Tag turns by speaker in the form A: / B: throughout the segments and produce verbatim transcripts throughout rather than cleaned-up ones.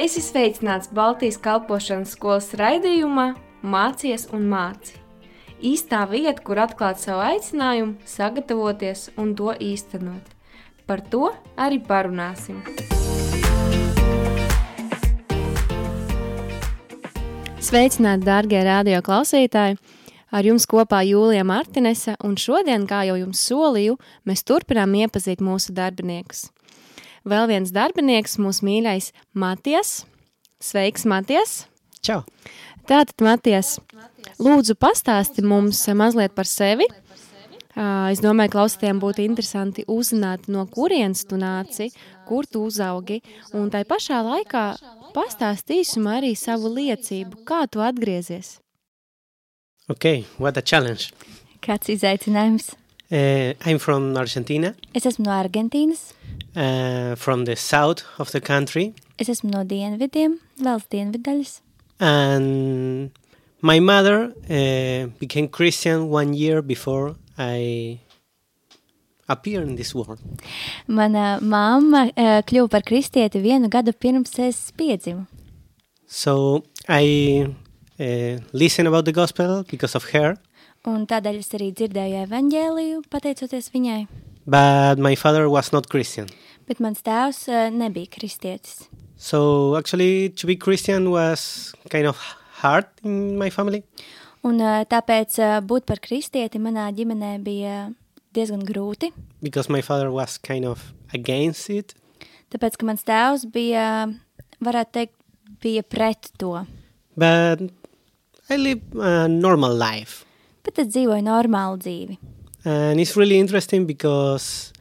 A: Esi sveicināts Baltijas kalpošanas skolas raidījumā Mācies un māci. Īstā vieta, kur atklāt savu aicinājumu, sagatavoties un to īstenot. Par to arī parunāsim. Sveicināti, dārgie radio klausītāji! Ar jums kopā Jūlija Martinese, un šodien, kā jau jums solīju, mēs turpinām iepazīt mūsu darbiniekus. Vēl viens darbinieks, mūsu mīļais Matijas. Sveiks, Matijas!
B: Čau!
A: Tātad, Matijas, lūdzu pastāsti mums mazliet par sevi. Es domāju, klausītājiem būtu interesanti uzzināt, no kurienes tu nāci, kur tu uzaugi, un tai pašā laikā pastāsti īsumā arī savu liecību, kā tu atgriezies.
B: Okay, what a challenge.
C: Kāds izaicinājums?
B: Uh, I'm from Argentina.
C: Es esmu no Argentīnas.
B: Uh, from the south of the country.
C: Es esmu no dienvidiem, valsts dienvidaļas.
B: And my mother uh, became Christian one year before I appeared in this world.
C: Mana mamma uh, kļuva par kristieti vienu gadu pirms es piedzimu.
B: So I uh, listened about the gospel because of her.
C: Un tādēļ es arī dzirdēju evaņģēliju, pateicoties viņai.
B: But my father was not Christian.
C: Bet mans tēvs uh, nebija kristietis.
B: So actually to be Christian was kind of hard in my family.
C: Un uh, tāpēc uh, būt par kristieti manā ģimenē bija diezgan grūti.
B: Because my father was kind of against it.
C: Tāpēc, ka mans tēvs bija, varētu teikt, bija pret to.
B: But I live a normal life.
C: Bet es dzīvoju normālu dzīvi.
B: And it's really interesting because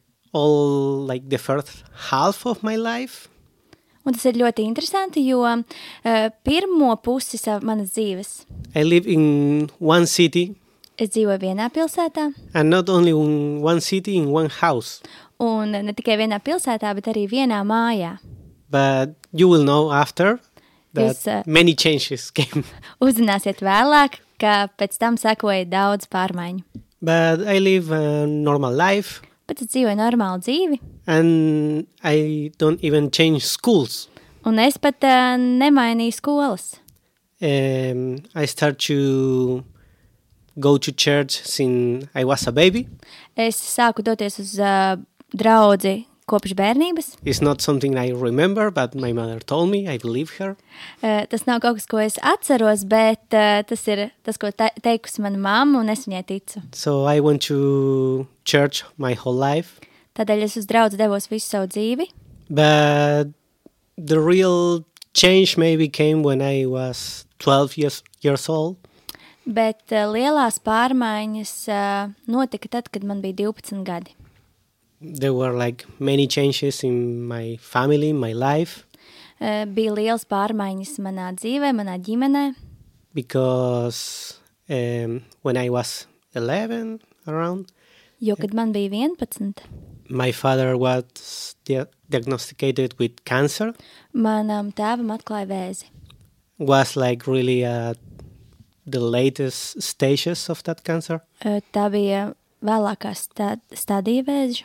B: all like the first half of my life.
C: Un tas ir ļoti interesanti, jo uh, pirmo pusi savu manas dzīves.
B: I live in one city.
C: Es dzīvoju vienā pilsētā.
B: And not only in one city, in one house.
C: Un ne tikai vienā pilsētā, bet arī vienā mājā.
B: But you will know after that
C: Jūs, uh,
B: many changes came.
C: Uzzināsiet vēlāk, ka pēc tam sekoja daudz pārmaiņu.
B: But I live a normal life.
C: Bet es dzīvoju normālu dzīvi.
B: And I don't even change schools.
C: Un es pat uh, nemainīju skolas.
B: Um, I start to go to church since I was a baby.
C: Es sāku doties uz uh, draudzi kopš bērnības.
B: It's not something I remember, but my mother told me. I believe her.
C: Uh, tas nav kaut kas, ko es atceros, bet uh, tas ir tas, ko te- teikusi mana mamma, un es viņai ticu.
B: So I went to church my whole life.
C: Tādēļ es uz draudzi devos visu savu dzīvi.
B: But the real change maybe came when I was twelve years, years old.
C: Bet uh, lielās pārmaiņas uh, notika tad, kad man bija divpadsmit gadi.
B: There were like many changes in my family, my life.
C: Uh, bija liels pārmaiņas manā dzīvē, manā ģimenē.
B: Because um, when I was eleven around,
C: Jo, kad man bija vienpadsmit,
B: my father was dia- diagnosticated with cancer.
C: manam tēvam atklāja vēzi.
B: Was like really uh, the latest stages of that cancer.
C: Uh, tā bija vēlākā stad- stadija vēža.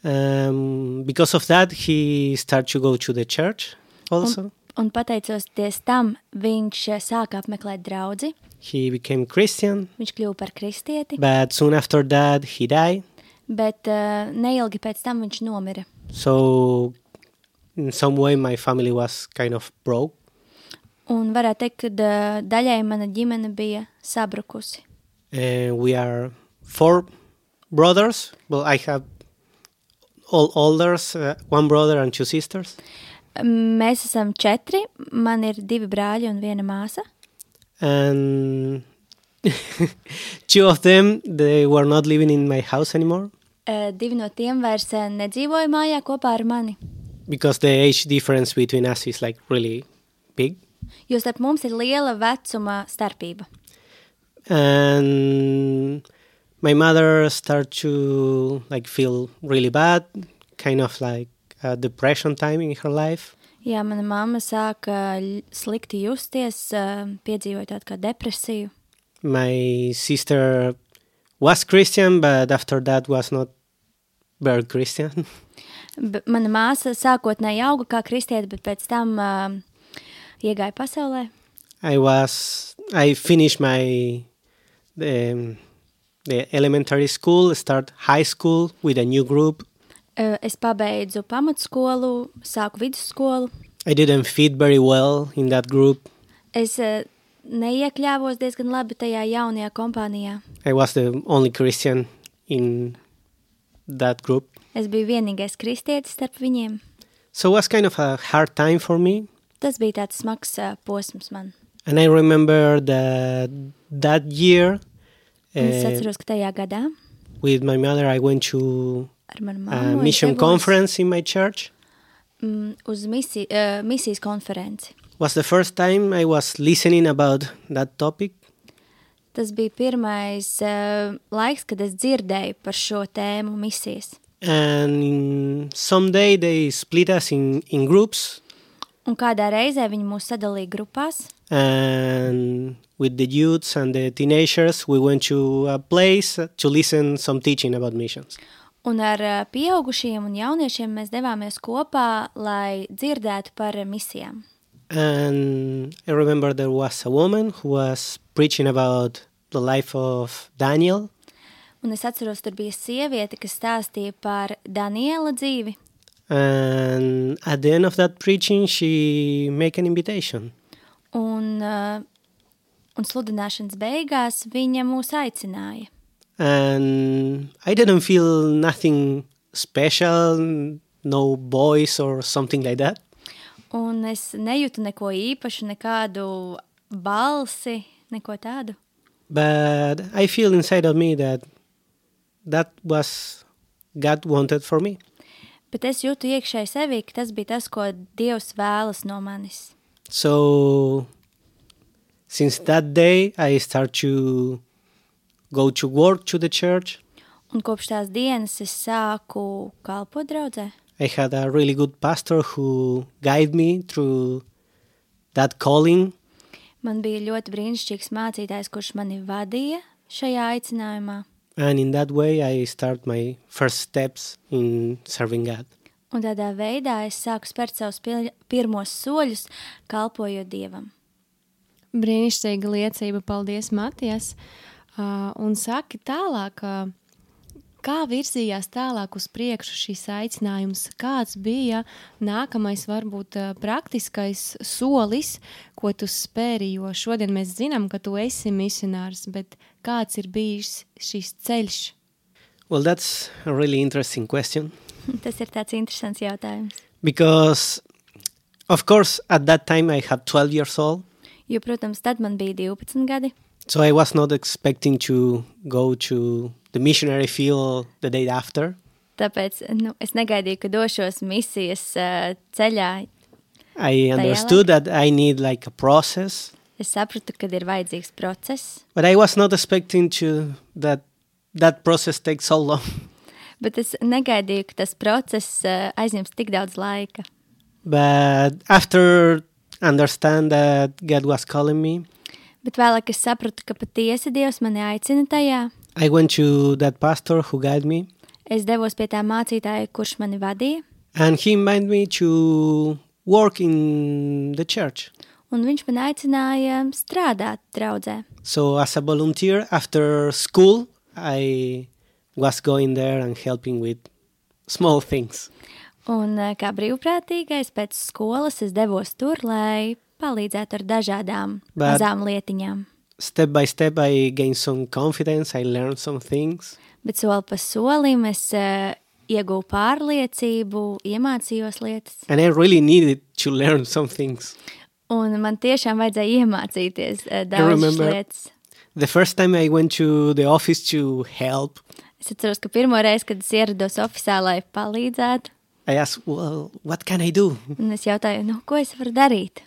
B: Um, because of that, he started to go to the church also.
C: Un, un pateicoties tam, viņš uh, sāka apmeklēt draudzi.
B: He became Christian,
C: Viņš kļuva par kristieti,
B: but soon after that, he died.
C: bet uh, neilgi pēc tam viņš nomira.
B: So in some way, my family was kind of broke.
C: Un varētu teikt, ka uh, daļai mana ģimene bija sabrukusi.
B: And we are four brothers. Well, I have all elders, uh, one brother and two sisters.
C: Mēs esam četri, man ir divi brāļi un viena māsa.
B: And two of them, they were not living in my house anymore
C: Uh, divi no tiem vairs uh, nedzīvoja mājā kopā ar mani,
B: because the age difference between us is like really big.
C: jo starp mums ir liela vecuma starpība.
B: And my mother started to like feel really bad, kind of like a depression time in her life.
C: Jā, mana mamma sāka ļ- slikti justies, uh, piedzīvoja tādu kā depresiju.
B: My sister was Christian, but after that was not very Christian.
C: B- mana māsa sākotnēji auga kā kristiete, bet pēc tam uh, iegāja pasaulē.
B: I was, I finished my, the, the elementary school, start high school with a new group.
C: Uh, es pabeidzu pamatskolu, sāku vidusskolu.
B: I didn't fit very well in that group.
C: Es uh, neiekļāvos diezgan labi tajā jaunajā kompānijā.
B: I was the only Christian in that group.
C: Es biju vienīgais kristietis starp viņiem.
B: So it was kind of a hard time for me.
C: Tas bija tāds smags uh, posms man.
B: And I remember that that year,
C: Un es
B: uh,
C: atceros, ka tajā gadā
B: with my mother, I went to
C: ar manu
B: a
C: mammu es
B: mission
C: devos,
B: conference in my church.
C: mm, uz misi, uh, misijas konferenci.
B: Was the first time I was listening about that topic.
C: Tas bija pirmais uh, laiks, kad es dzirdēju par šo tēmu misijas.
B: And someday they split us in, in groups.
C: Un kādā reizē viņi mūs sadalīja grupās.
B: And with the youths and the teenagers, we went to a place to listen some teaching about missions.
C: Un ar uh, pieaugušiem un jauniešiem mēs devāmies kopā, lai dzirdētu par misijām.
B: And I remember there was a woman who was preaching about the life of Daniel.
C: Un es atceros, tur bija sieviete, kas stāstīja par Daniela dzīvi.
B: And at the end of that preaching, she made an invitation.
C: Un, uh, un sludināšanas beigās viņa mūs aicināja.
B: And I didn't feel nothing special, no voice or something like that.
C: Un es nejūtu neko īpašu, nekādu balsi, neko tādu.
B: But I feel inside of me that that was God wanted for me.
C: Bet es jūtu iekšēji sevī, ka tas bija tas, ko Dievs vēlas no manis.
B: So since that day, I start to go to work to the church.
C: Un kopš tās dienas es sāku kalpot draudzē.
B: I had a really good pastor who guided me through that calling.
C: Man bija ļoti brīnišķīgs mācītājs, kurš mani vadīja šajā aicinājumā.
B: And in that way, I start my first steps in serving God.
C: Un tādā veidā es sāku spērt savus pil- pirmos soļus, kalpojot Dievam.
A: Brīnišķīga liecība, paldies, Matijas. Uh, un saki tālāk, uh, kā virzījās tālāk uz priekšu šīs aicinājums? Kāds bija nākamais, varbūt uh, praktiskais solis, ko tu spēri? Jo šodien mēs zinām, ka tu esi misionārs, bet kāds ir bijis šis ceļš?
B: Well, that's a really interesting question.
C: Tas ir tāds interesants jautājums.
B: Because, of course, at that time I had twelve years old.
C: Jo, protams, tad man bija divpadsmit gadi.
B: So I was not expecting to go to the missionary field the day after.
C: Tāpēc nu, es negaidīju, ka došos misijas uh, ceļā.
B: I understood that I need like a process.
C: Es sapratu, ka ir vajadzīgs process,
B: But I was not expecting to that that process takes so long.
C: bet es negaidīju, ka tas process uh, aizņems tik daudz laika.
B: But after understand that God was calling me,
C: Bet vēlāk es sapratu, ka patiesi Dievs mani aicina tajā.
B: I went to that pastor who guided me,
C: Es devos pie tā mācītāja, kurš mani vadīja,
B: and he invited me to work in the church.
C: un viņš man aicināja strādāt draudzē.
B: So as a volunteer after school, I was going there and helping with small things.
C: Un uh, kā brīvprātīgais pēc skolas es devos tur, lai palīdzētu ar dažādām
B: Bet-
C: mazām lietiņām.
B: Step by step, I gained some confidence. I learned some things.
C: Bet soli pa solim es uh, ieguvu pārliecību, iemācījos lietas.
B: And I really needed to learn some things.
C: Un man tiešām vajadzēja iemācīties uh, daudzas
B: remember-
C: lietas.
B: The first time I went to the office to help,
C: Es atceros, ka pirmo reizi, kad es ierados ofisā, lai palīdzētu,
B: I asked, well, what can I do?
C: un es jautāju, nu, ko es varu darīt?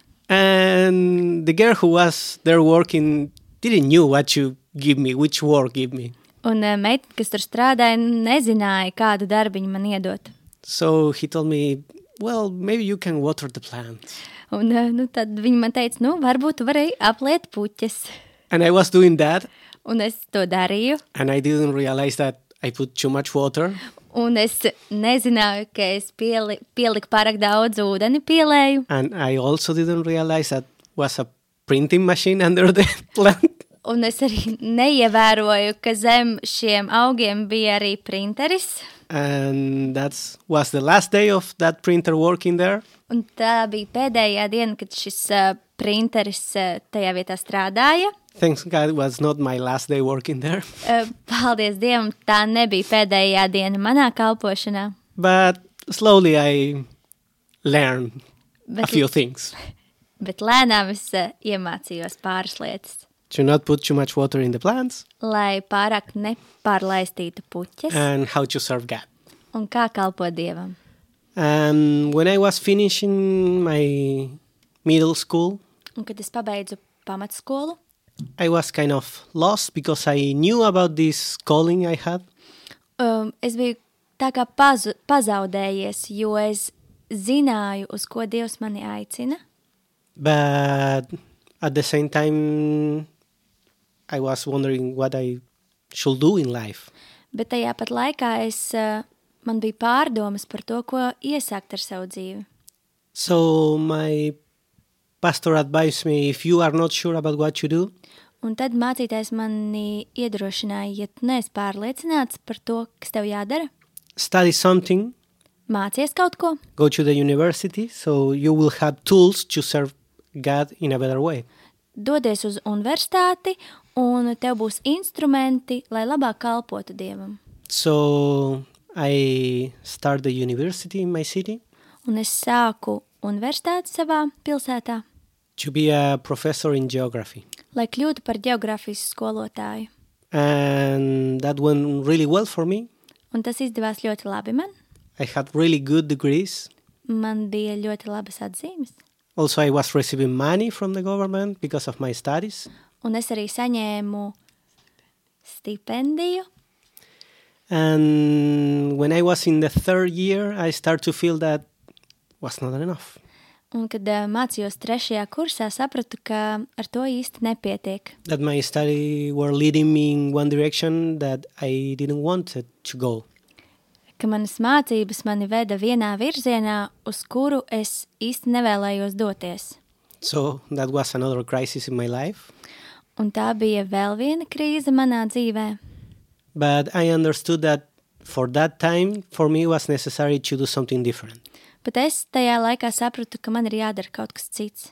B: And the girl who was there working didn't know what to give me, which work give me.
C: Un uh, meitene, kas tur strādāja, nezināja, kādu darbiņu man iedot.
B: So he told me, well, maybe you can water the plants.
C: Un uh, nu, tad viņa man teica, nu, varbūt tu vari apliet puķes.
B: And I was doing that,
C: Un es to darīju,
B: and I didn't realize that I put too much water.
C: Un es nezināju, ka es pieli, pieliku pārāk daudz ūdeni pielēju.
B: And I also didn't realize that was a printing machine under the plant.
C: Un es arī neievēroju, ka zem šiem augiem bija arī printeris.
B: And that was the last day of that printer working there.
C: Un tā bija pēdējā diena, kad šis uh, printeris uh, tajā vietā strādāja.
B: Thanks God it was not my last day working there.
C: Uh, paldies Dievam, tā nebija pēdējā diena manā kalpošanā.
B: But slowly I learned
C: Bet,
B: a few things.
C: Bet lēnām es uh, iemācījos pāris lietas.
B: To not put too much water in the plants.
C: Lai pārāk nepārlaistītu puķes.
B: And how to serve God.
C: Un kā kalpot Dievam.
B: And when I was finishing my middle school,
C: un kad es pabeidzu pamatskolu,
B: I was kind of lost because I knew about this calling I had.
C: Um, es biju tā kā pazu, pazaudējies, jo es zināju, uz ko Dievs mani aicina.
B: But at the same time, I was wondering what I should do in life.
C: Bet tajā pat laikā es, uh, man bija pārdomas par to, ko iesākt ar savu dzīvi.
B: So my pastor advised me, if you are not sure about what you do,
C: un tad mācītājs mani iedrošināja, ja tu neesi pārliecināts par to, kas tev jādara,
B: study something,
C: mācies kaut ko,
B: go to the university, so you will have tools to serve God in a better way.
C: Dodies uz universitāti, un tev būs instrumenti, lai labāk kalpotu Dievam.
B: So I started the university in my city.
C: Un es sāku universitāti savā pilsētā.
B: To be a professor in geography.
C: Lai kļūtu par geogrāfijas skolotāju.
B: And that went really well for me.
C: Un tas izdevās ļoti labi man.
B: I had really good degrees.
C: Man bija ļoti labas atzīmes.
B: Also, I was receiving money from the government because of my studies.
C: Un es arī saņēmu stipendiju.
B: And when I was in the third year, I started to feel that was not enough.
C: Un kad uh, mācījos trešajā kursā, sapratu, ka ar to īsti nepietiek.
B: That my studies were leading me in one direction that I didn't want it to go.
C: Ka manas mācības mani veda vienā virzienā, uz kuru es īsti nevēlējos doties.
B: So that was another crisis in my life.
C: Un tā bija vēl viena krīze manā dzīvē.
B: But I understood that for that time, for me, it was necessary to do something different.
C: Bet es tajā laikā sapratu, ka man ir jādara kaut kas cits.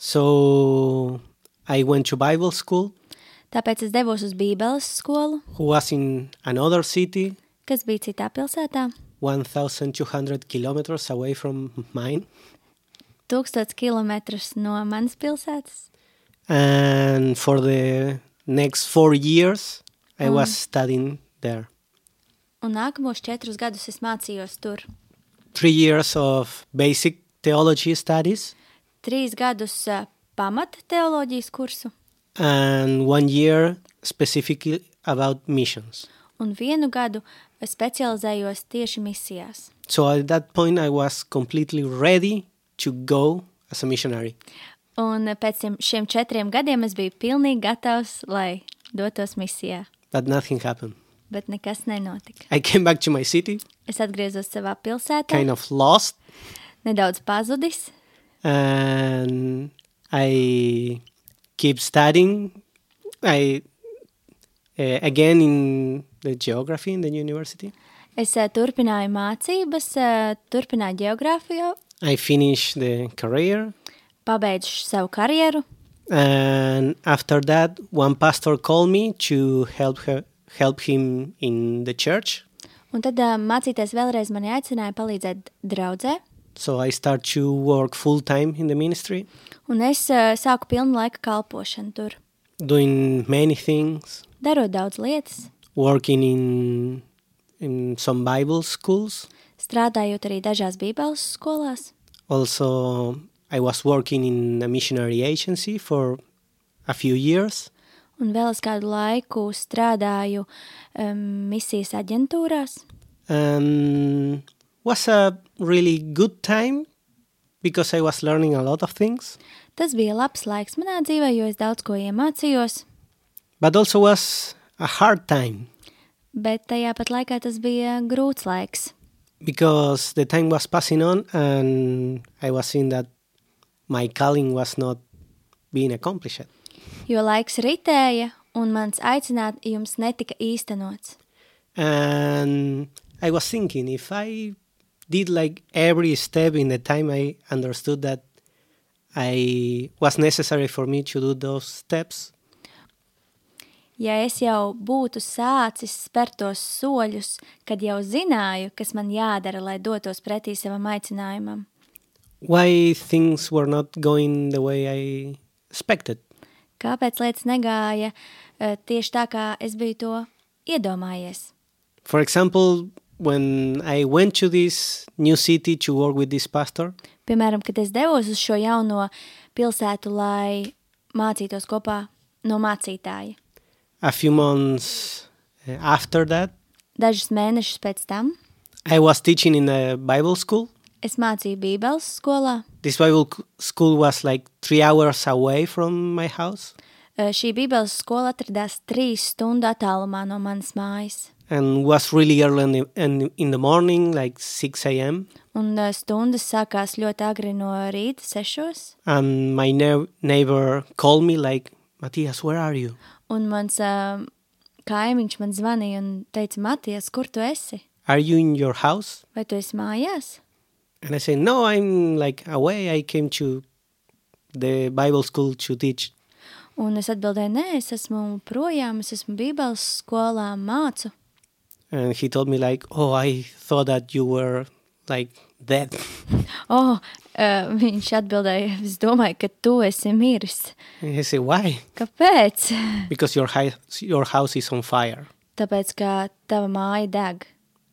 B: So I went to Bible school.
C: Tāpēc es devos uz Bībeles skolu.
B: Who was in another city.
C: Kas bija citā pilsētā.
B: one thousand two hundred kilometers away from mine.
C: Tūkstots kilometrus no manas pilsētas.
B: And for the next four years, I mm. was studying there.
C: Un nākamos četrus gadus es mācījos tur.
B: Three years of basic theology studies.
C: Trīs gadus uh, pamata teoloģijas kursu.
B: And one year specifically about missions.
C: Un vienu gadu specializējos tieši misijās.
B: So at that point I was completely ready to go as a missionary.
C: Un pēc šiem četriem gadiem es biju pilnīgi gatavs, lai dotos misijā.
B: But nothing happened.
C: Bet nekas nenotika.
B: I came back to my city.
C: Es atgriezos savā pilsētā.
B: Kind of lost.
C: Nedaudz pazudis.
B: And I keep studying. I uh, again in the geography in the university.
C: Es uh, turpināju mācības, uh, turpināju geogrāfiju.
B: I finished the career.
C: Pabeidzu savu karjeru.
B: And after that, one pastor called me to help her, help him in the church.
C: Un tad uh, mācītājs vēlreiz mani aicināja palīdzēt draudzē.
B: So I start to work full time in the ministry.
C: Un es uh, sāku pilnu laika kalpošanu tur.
B: Doing many things.
C: Darot daudz lietas.
B: Working in in some Bible schools.
C: Strādājot arī dažās Bībeles skolās.
B: Also, I was working in a missionary agency for a few years.
C: Un vēl es kādu laiku strādāju um, misijas aģentūrās.
B: Um, was a really good time because I was learning a lot of things.
C: Tas bija labs laiks manā dzīvē, jo es daudz ko iemācījos.
B: But also was a hard time.
C: bet tajā pat laikā tas bija grūts laiks.
B: because the time was passing on and I was seeing that my calling was not being accomplished.
C: Jo laiks ritēja un mans aicinājums netika īstenots.
B: And I was thinking, if I did like every step in the time I understood that I was necessary for me to do those steps,
C: Ja es jau būtu sācis spērt tos soļus, kad jau zināju, kas man jādara, lai dotos pretī savam aicinājumam,
B: why things were not going the way I expected?
C: kāpēc lietas negāja uh, tieši tā, kā es biju to iedomājies?
B: For example, when I went to this new city to work with this pastor,
C: Piemēram, kad es devos uz šo jauno pilsētu, lai mācītos kopā no mācītāja.
B: a few months uh, after that,
C: Dažus mēnešus pēc tam
B: I was teaching in a Bible school.
C: es mācīju Bībeles skolā.
B: This Bible c- school was like three hours away from my house
C: Uh, Šī Bībeles skola atradās trīs stundu attālumā no manas mājas.
B: and was really early in the, in, in the morning, like six a.m.
C: Un uh, stundas sākās ļoti agri no rīta, sešos.
B: And my ne- neighbor called me like, Matthias, where are you?
C: Un mans uh, kaimiņš man zvanīja un teica, Matijas, kur tu esi?
B: Are you in your house?
C: Vai tu esi mājās?
B: And I said, no, I'm like away. I came to the Bible school to teach.
C: Un es atbildēju, nē, es esmu projām, es esmu Bībeles skolā, mācu.
B: And he told me like, oh, I thought that you were like dead.
C: Oh, uh, viņš atbildēja, es domāju, ka tu esi miris.
B: And I said, why?
C: Kāpēc?
B: Because your, hi- your house is on fire.
C: Tāpēc, ka tava māja deg.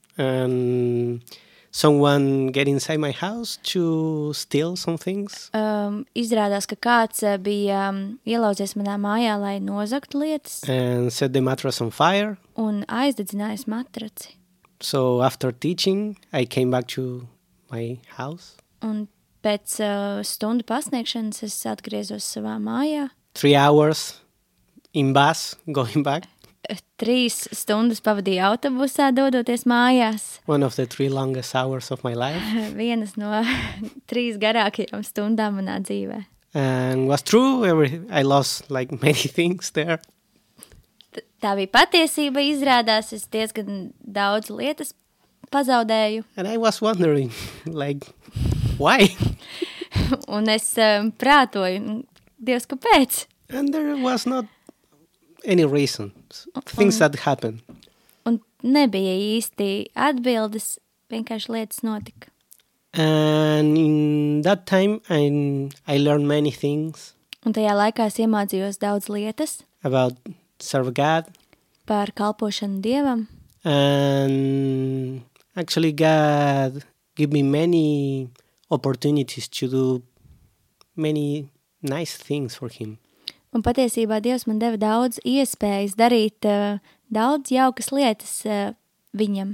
B: And someone get inside my house to steal some things.
C: Um, izrādās, ka kāds uh, bija um, ielauzies manā mājā, lai nozagtu lietas
B: And set the mattress on fire.
C: un aizdedzinājis matraci.
B: So after teaching, I came back to my house.
C: Un pēc uh, stundu pasniegšanas es atgriezos savā mājā.
B: Three hours in bus going back.
C: Eh, Trīs stundas pavadīju autobusā, dodoties mājās.
B: One of the three longest hours of my life.
C: Vienas no trīs garākajām stundām manā dzīvē.
B: And was true. Every, I lost like many things there.
C: T- Tā bija patiesība, izrādās, es diezgan daudz lietas pazaudēju.
B: And I was wondering, like, why?
C: Un es um, prātoju, "Nu, Dievs, kāpēc?
B: And there was not any reason. Things that happened.
C: Un nebija īsti atbildes, vienkārši lietas notika.
B: And in that time, I, I learned many things
C: Un tajā laikā es iemācījos daudz lietas
B: about serve God.
C: par kalpošanu Dievam.
B: And actually, God gave me many opportunities to do many nice things for Him.
C: Un patiesībā Dievs man deva daudz iespējas darīt uh, daudz jaukas lietas uh, viņam.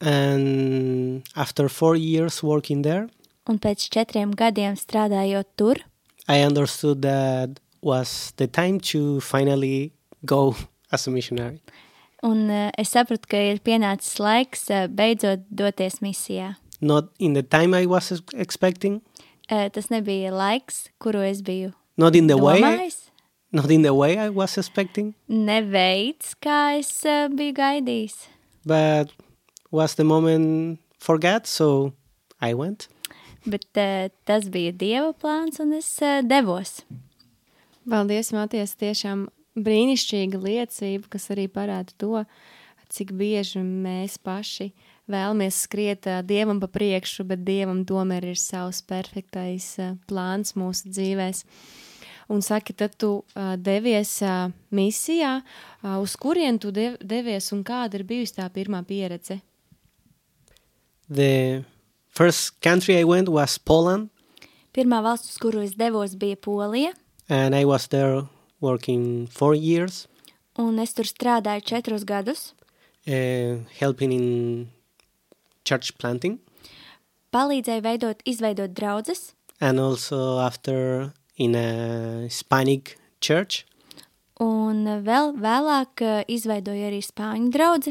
B: And after four years working there,
C: Un pēc četriem gadiem strādājot tur,
B: I understood that was the time to finally go as a missionary.
C: un uh, es sapratu, ka ir pienācis laiks uh, beidzot doties misijā.
B: Not in the time I was ex- expecting,
C: Uh, tas nebija laiks, kuru es biju
B: not in the way,
C: domājis,
B: not in the way I was expecting,
C: ne veids, kā es uh, biju gaidījis.
B: but was the moment for God, so I went.
C: Bet uh, tas bija Dieva plāns, un es uh, devos.
A: Paldies, Matijas, tiešām brīnišķīga liecība, kas arī parāda to, cik bieži mēs paši vēlamies skriet ā, Dievam pa priekšu, bet Dievam tomēr ir savs perfektais ā, plāns mūsu dzīvēs. Un saki, tad tu ā, devies ā, misijā, ā, uz kurien tu dev, devies un kāda ir bijusi tā pirmā pieredze?
B: The first country I went was Poland,
C: Pirmā valsts, uz kuru es devos, bija Polija,
B: and I was there working four years,
C: un es tur strādāju četrus gadus,
B: uh, helping in church planting,
C: palīdzēju veidot, izveidot draudzes,
B: and also after in a Hispanic church.
C: un vēl vēlāk uh, izveidoju arī spāņu draudzi.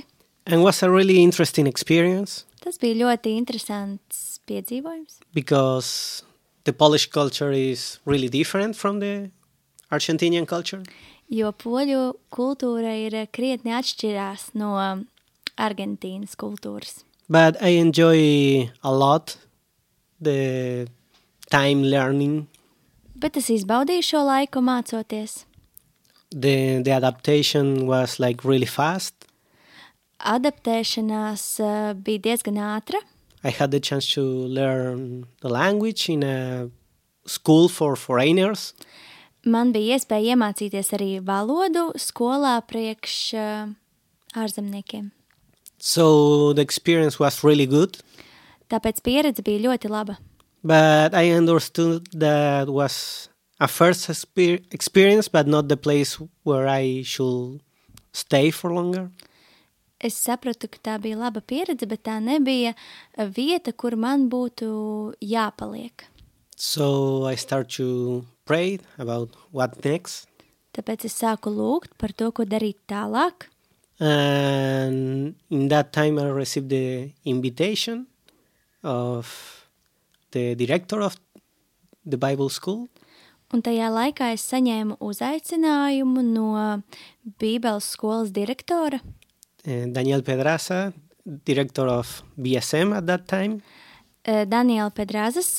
B: And was a really interesting experience.
C: Tas bija ļoti interesants piedzīvojums.
B: Because the Polish culture is really different from the Argentinian culture.
C: Jo poļu kultūra ir krietni atšķirās no Argentīnas kultūras.
B: But I enjoy a lot the time learning.
C: Bet es izbaudīju šo laiku mācoties.
B: The, the adaptation was like really fast.
C: Adaptēšanās uh, bija diezgan ātra.
B: I had the chance to learn the language in a school for foreigners.
C: Man bija iespēja iemācīties arī valodu skolā priekš uh, ārzemniekiem.
B: So the experience was really good.
C: Tāpēc pieredze bija ļoti laba.
B: But I understood that was a first exper- experience, but not the place where I should stay for longer.
C: Es sapratu, ka tā bija laba pieredze, bet tā nebija vieta, kur man būtu jāpaliek.
B: So I start to pray about what next.
C: Tāpēc es sāku lūgt par to, ko darīt tālāk.
B: And in that time I received the invitation of the director of the Bible school.
C: Un tajā laikā es saņēmu uzaicinājumu no Bībeles skolas direktora.
B: And Daniel Pedraza, director of B S M at that time.
C: Daniela Pedrazas,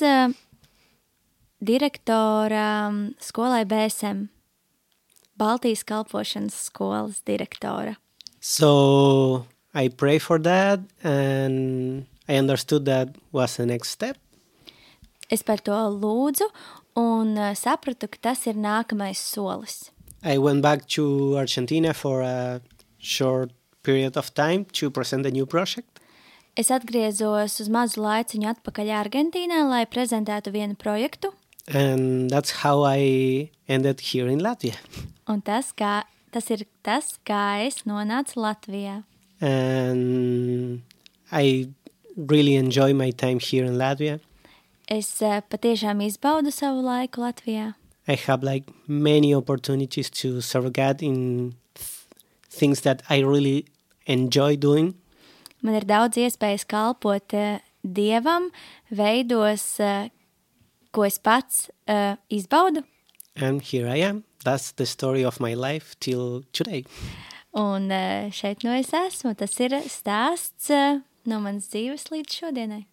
C: direktora skolai B S M, Baltijas kalpošanas skolas direktora.
B: So I pray for that and I understood that was the next step.
C: Es par to lūdzu un sapratu, ka tas ir nākamais solis.
B: I went back to Argentina for a short period of time to present a new project.
C: Es atgriezos uz mazu laiciņu atpakaļ Argentīnā, lai prezentētu vienu projektu.
B: And that's how I ended here in Latvia.
C: Un tas, kā, tas ir tas, kā es nonācu Latvijā.
B: And I really enjoy my time here in Latvia.
C: Es uh, patiešām izbaudu savu laiku Latvijā.
B: I have like many opportunities to serve God in th- things that I really enjoy doing.
C: Man ir daudz iespējas kalpot uh, Dievam, veidos, uh, ko es pats uh, izbaudu.
B: And here I am. That's the story of my life till today.
C: Un uh, šeit no es esmu. Tas ir stāsts uh, no manas dzīves līdz šodienai.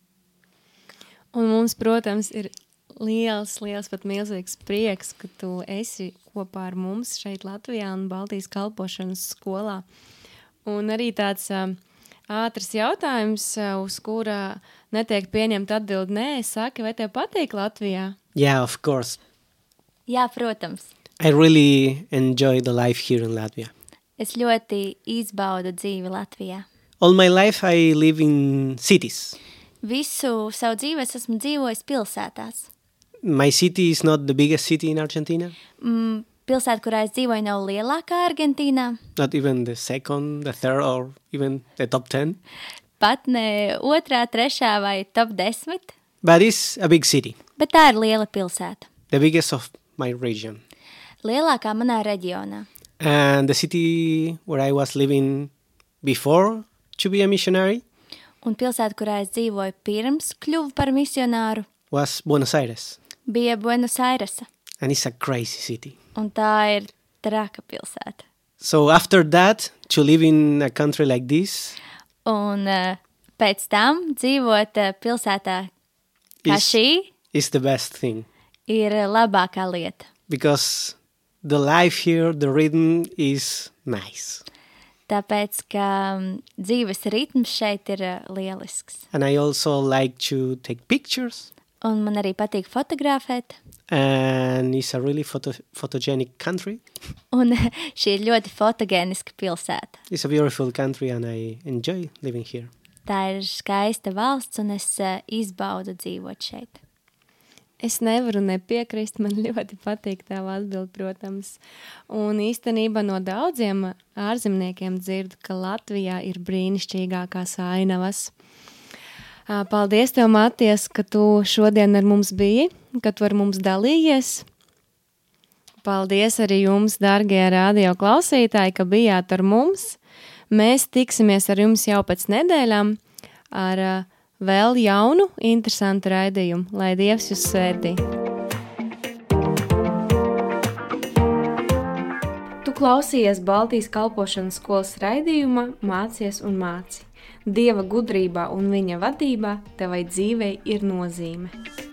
A: Un mums, protams, ir liels, liels, pat milzīgs prieks, ka tu esi kopā ar mums šeit Latvijā un Baltijas kalpošanas skolā. Un arī tāds uh, ātrs jautājums, uh, uz kura netiek pieņemt atbildi nē, saki, vai tev patīk Latvijā?
B: Yeah, of course.
C: Jā, protams.
B: I really enjoy the life here in Latvia.
C: Es ļoti izbaudu dzīvi Latvijā.
B: All my life I live in cities.
C: Visu savu dzīvi es esmu dzīvojis pilsētās.
B: My city is not the biggest city in Argentina.
C: Mm, pilsēta, kurā es dzīvoju, nav lielākā Argentīnā.
B: Not even the second, the third, or even the top ten.
C: Pat ne otrā, trešā vai top desmit.
B: But it's a big city.
C: Bet tā ir liela pilsēta.
B: The biggest of my region.
C: Lielākā manā reģionā.
B: And the city where I was living before to be a missionary
C: Un pilsēta, kurā es dzīvoju pirms kļuvu par misionāru,
B: was Buenos Aires.
C: bija Buenos Airesa.
B: And it's a crazy city.
C: Un tā ir traka pilsēta.
B: So after that, to live in a country like this
C: Un uh, pēc tam dzīvot uh, pilsētā kā
B: is,
C: šī
B: is the best thing.
C: ir labākā lieta.
B: Because the life here, the rhythm is nice.
C: Tāpēc, ka um, dzīves ritms šeit ir uh, lielisks.
B: And I also like to take pictures.
C: Un man arī patīk fotografēt.
B: And it's a really photo, photogenic country.
C: Un šī ir ļoti fotogēniska pilsēta.
B: It's a beautiful country and I enjoy living here.
C: Tā ir skaista valsts un es uh, izbaudu dzīvot šeit.
A: Es nevaru nepiekrist, man ļoti patīk tava atbild, protams. Un īstenībā no daudziem ārzemniekiem dzirdu, ka Latvijā ir brīnišķīgākās ainavas. Paldies tev, Matijas, ka tu šodien ar mums biji, ka tu ar mums dalījies. Paldies arī jums, dargie radio klausītāji, ka bijāt ar mums. Mēs tiksimies ar jums jau pēc nedēļām ar uh, vēl jaunu, interesantu raidījumu. Lai Dievs jūs svētī! Tu klausījies Baltijas kalpošanas skolas raidījuma Mācies un māci. Dieva gudrībā un viņa vadībā tevai dzīvei ir nozīme.